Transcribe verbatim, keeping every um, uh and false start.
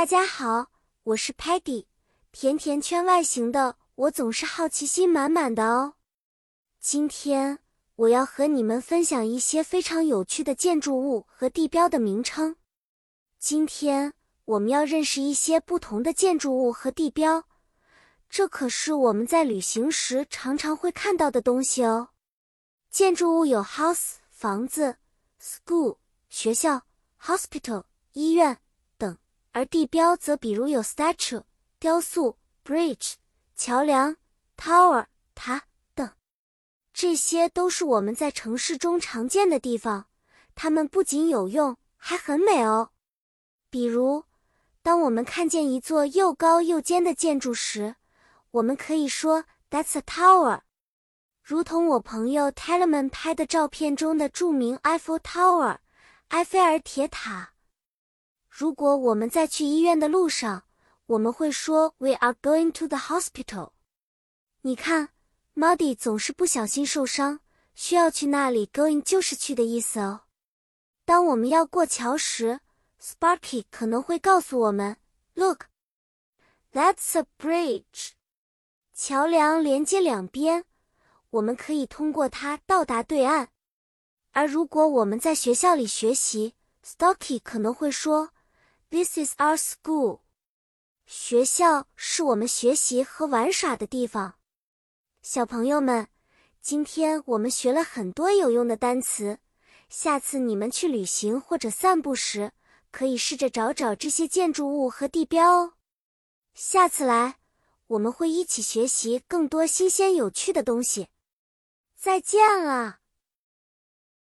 大家好，我是 Patty， 甜甜圈外形的我总是好奇心满满的哦。今天我要和你们分享一些非常有趣的建筑物和地标的名称。今天我们要认识一些不同的建筑物和地标，这可是我们在旅行时常常会看到的东西哦。建筑物有 house 房子、school 学校、hospital 医院等，而地标则比如有 statue 雕塑、bridge 桥梁、tower 塔等。这些都是我们在城市中常见的地方，它们不仅有用，还很美哦。比如，当我们看见一座又高又尖的建筑时，我们可以说 That's a tower。如同我朋友 Telemann 拍的照片中的著名 Eiffel Tower 埃菲尔铁塔。如果我们在去医院的路上，我们会说 We are going to the hospital。 你看 Muddy 总是不小心受伤，需要去那里 going 就是去的意思哦。当我们要过桥时， Sparky 可能会告诉我们 Look, that's a bridge。 桥梁连接两边，我们可以通过它到达对岸。而如果我们在学校里学习， Stocky 可能会说 This is our school。 学校是我们学习和玩耍的地方。小朋友们，今天我们学了很多有用的单词，下次你们去旅行或者散步时，可以试着找找这些建筑物和地标哦。下次来，我们会一起学习更多新鲜有趣的东西。再见了。